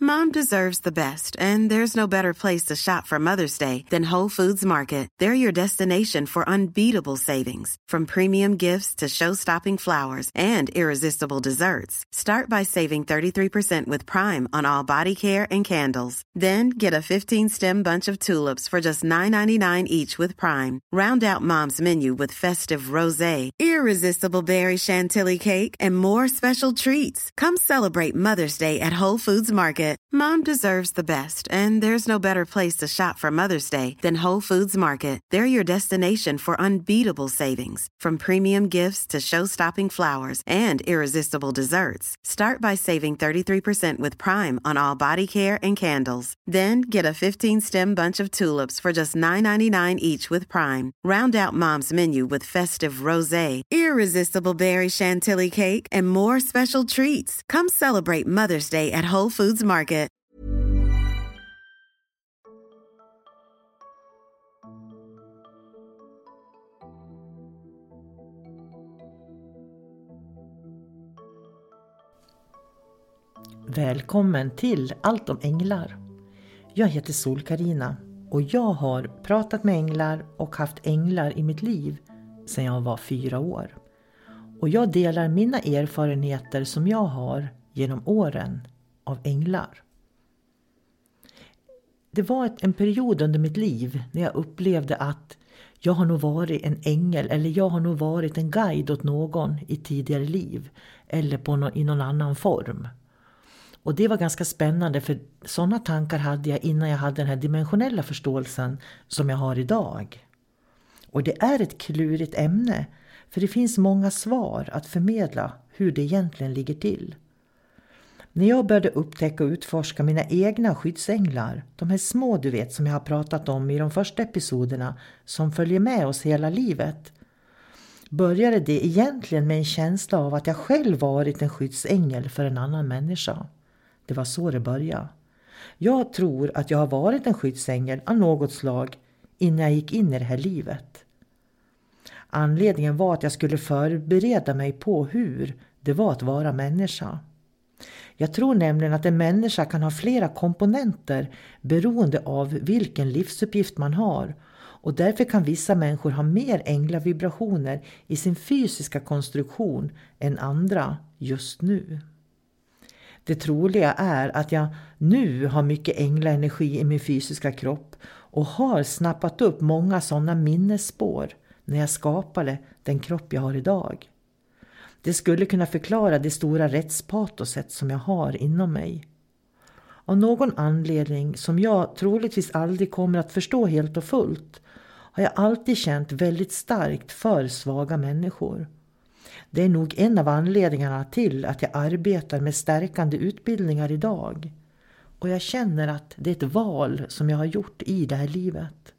Mom deserves the best, and there's no better place to shop for Mother's Day than Whole Foods Market. They're your destination for unbeatable savings, from premium gifts to show-stopping flowers and irresistible desserts. Start by saving 33% with Prime on all body care and candles. Then get a 15-stem bunch of tulips for just $9.99 each with Prime. Round out Mom's menu with festive rosé, irresistible berry chantilly cake, and more special treats. Come celebrate Mother's Day at Whole Foods Market. Mom deserves the best, and there's no better place to shop for Mother's Day than Whole Foods Market. They're your destination for unbeatable savings, from premium gifts to show-stopping flowers and irresistible desserts. Start by saving 33% with Prime on all body care and candles. Then get a 15-stem bunch of tulips for just $9.99 each with Prime. Round out Mom's menu with festive rosé, irresistible berry chantilly cake, and more special treats. Come celebrate Mother's Day at Whole Foods Market. Välkommen till Allt om änglar. Jag heter Sol-Carina och jag har pratat med änglar och haft änglar i mitt liv sedan jag var 4 år. Och jag delar mina erfarenheter som jag har genom åren av änglar. Det var en period under mitt liv när jag upplevde att jag har nog varit en ängel eller jag har nog varit en guide åt någon i tidigare liv eller i någon annan form. Och det var ganska spännande, för sådana tankar hade jag innan jag hade den här dimensionella förståelsen som jag har idag. Och det är ett klurigt ämne, för det finns många svar att förmedla hur det egentligen ligger till. När jag började upptäcka och utforska mina egna skyddsänglar, de här små du vet som jag har pratat om i de första episoderna som följer med oss hela livet, började det egentligen med en känsla av att jag själv varit en skyddsängel för en annan människa. Det var så det började. Jag tror att jag har varit en skyddsängel av något slag innan jag gick in i det här livet. Anledningen var att jag skulle förbereda mig på hur det var att vara människa. Jag tror nämligen att en människa kan ha flera komponenter beroende av vilken livsuppgift man har. Och därför kan vissa människor ha mer änglavibrationer i sin fysiska konstruktion än andra just nu. Det troliga är att jag nu har mycket änglaenergi i min fysiska kropp och har snappat upp många sådana minnesspår när jag skapade den kropp jag har idag. Det skulle kunna förklara det stora rättspatoset som jag har inom mig. Av någon anledning som jag troligtvis aldrig kommer att förstå helt och fullt har jag alltid känt väldigt starkt för svaga människor. Det är nog en av anledningarna till att jag arbetar med stärkande utbildningar idag. Och jag känner att det är ett val som jag har gjort i det här livet.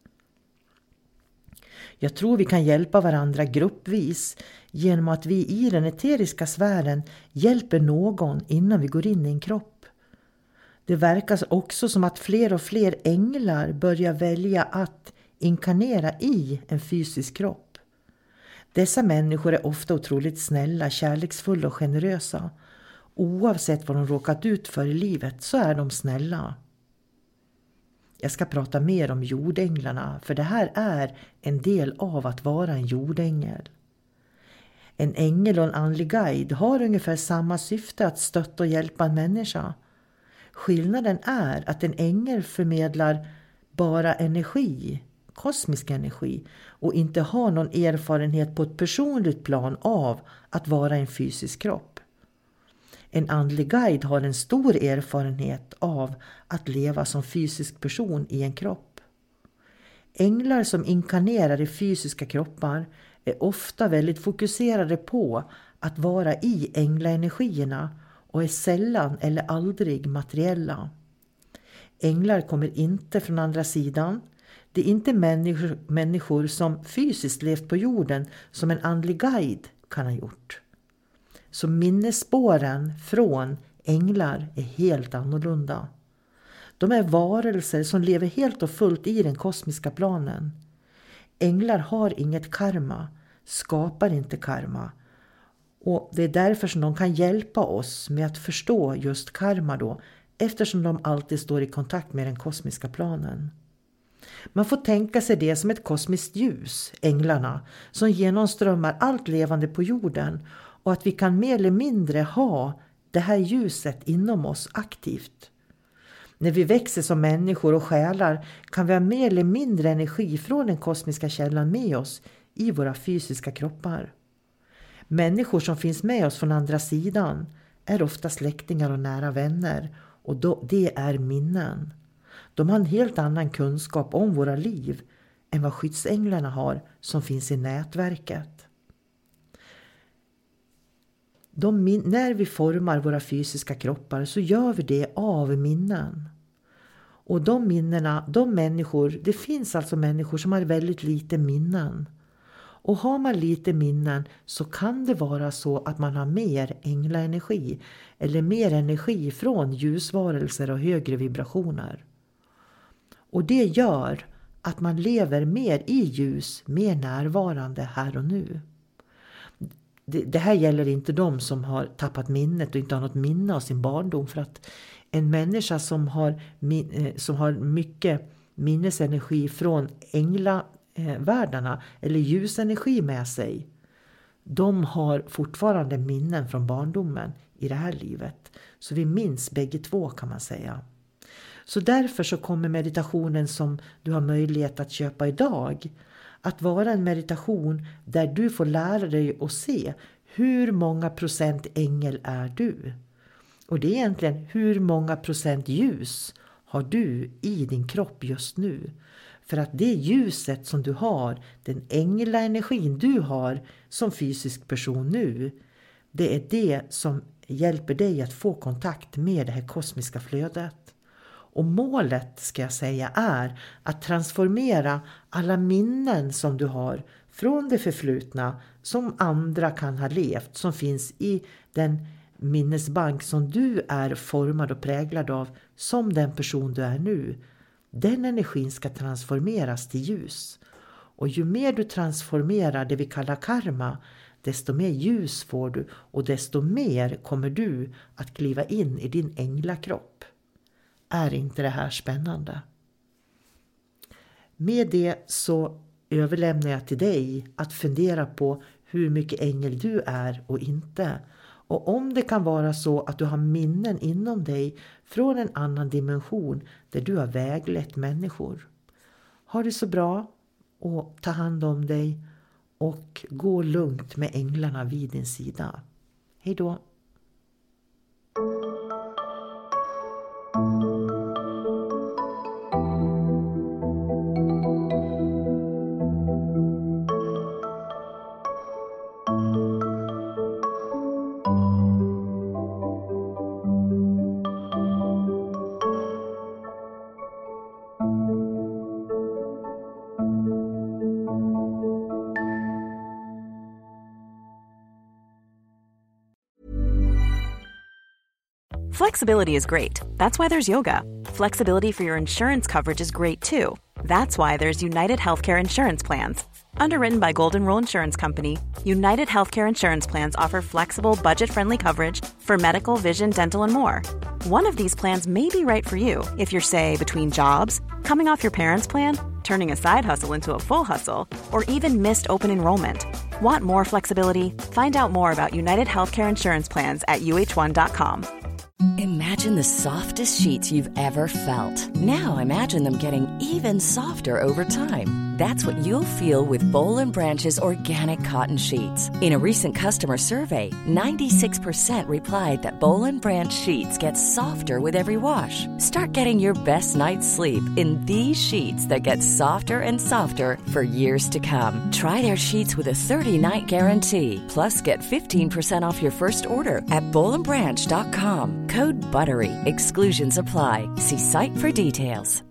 Jag tror vi kan hjälpa varandra gruppvis genom att vi i den eteriska sfären hjälper någon innan vi går in i en kropp. Det verkar också som att fler och fler änglar börjar välja att inkarnera i en fysisk kropp. Dessa människor är ofta otroligt snälla, kärleksfulla och generösa. Oavsett vad de råkat ut för i livet så är de snälla. Jag ska prata mer om jordänglarna, för det här är en del av att vara en jordängel. En ängel och en andlig guide har ungefär samma syfte, att stötta och hjälpa en människa. Skillnaden är att en ängel förmedlar bara energi, kosmisk energi, och inte har någon erfarenhet på ett personligt plan av att vara en fysisk kropp. En andlig guide har en stor erfarenhet av att leva som fysisk person i en kropp. Änglar som inkarnerar i fysiska kroppar är ofta väldigt fokuserade på att vara i änglaenergierna och är sällan eller aldrig materiella. Änglar kommer inte från andra sidan. Det är inte människor som fysiskt levt på jorden som en andlig guide kan ha gjort. Så minnesspåren från änglar är helt annorlunda. De är varelser som lever helt och fullt i den kosmiska planen. Änglar har inget karma, skapar inte karma. Och det är därför som de kan hjälpa oss med att förstå just karma då, eftersom de alltid står i kontakt med den kosmiska planen. Man får tänka sig det som ett kosmiskt ljus, änglarna, som genomströmmar allt levande på jorden, och att vi kan mer eller mindre ha det här ljuset inom oss aktivt. När vi växer som människor och själar kan vi ha mer eller mindre energi från den kosmiska källan med oss i våra fysiska kroppar. Människor som finns med oss från andra sidan är ofta släktingar och nära vänner, och det är minnen. De har en helt annan kunskap om våra liv än vad skyddsänglarna har som finns i nätverket. När vi formar våra fysiska kroppar så gör vi det av minnen. Och de minnena, det finns alltså människor som har väldigt lite minnen. Och har man lite minnen så kan det vara så att man har mer änglaenergi eller mer energi från ljusvarelser och högre vibrationer. Och det gör att man lever mer i ljus, mer närvarande här och nu. Det här gäller inte de som har tappat minnet och inte har något minne av sin barndom, för att en människa som har mycket minnesenergi från änglavärldarna eller ljusenergi med sig, de har fortfarande minnen från barndomen i det här livet. Så vi minns bägge två, kan man säga. Så därför så kommer meditationen som du har möjlighet att köpa idag att vara en meditation där du får lära dig att se hur många procent ängel är du. Och det är egentligen hur många procent ljus har du i din kropp just nu. För att det ljuset som du har, den änglaenergin du har som fysisk person nu, det är det som hjälper dig att få kontakt med det här kosmiska flödet. Och målet, ska jag säga, är att transformera alla minnen som du har från det förflutna som andra kan ha levt, som finns i den minnesbank som du är formad och präglad av som den person du är nu. Den energin ska transformeras till ljus. Och ju mer du transformerar det vi kallar karma, desto mer ljus får du och desto mer kommer du att kliva in i din änglakropp. Är inte det här spännande? Med det så överlämnar jag till dig att fundera på hur mycket ängel du är och inte. Och om det kan vara så att du har minnen inom dig från en annan dimension där du har väglett människor. Ha det så bra och ta hand om dig och gå lugnt med änglarna vid din sida. Hej då! Flexibility is great. That's why there's yoga. Flexibility for your insurance coverage is great too. That's why there's United Healthcare Insurance Plans. Underwritten by Golden Rule Insurance Company, United Healthcare Insurance Plans offer flexible, budget-friendly coverage for medical, vision, dental, and more. One of these plans may be right for you if you're, say, between jobs, coming off your parents' plan, turning a side hustle into a full hustle, or even missed open enrollment. Want more flexibility? Find out more about United Healthcare Insurance Plans at uh1.com. Imagine the softest sheets you've ever felt. Now imagine them getting even softer over time. That's what you'll feel with Boll & Branch's organic cotton sheets. In a recent customer survey, 96% replied that Boll & Branch sheets get softer with every wash. Start getting your best night's sleep in these sheets that get softer and softer for years to come. Try their sheets with a 30-night guarantee. Plus, get 15% off your first order at bollandbranch.com. Code BUTTERY. Exclusions apply. See site for details.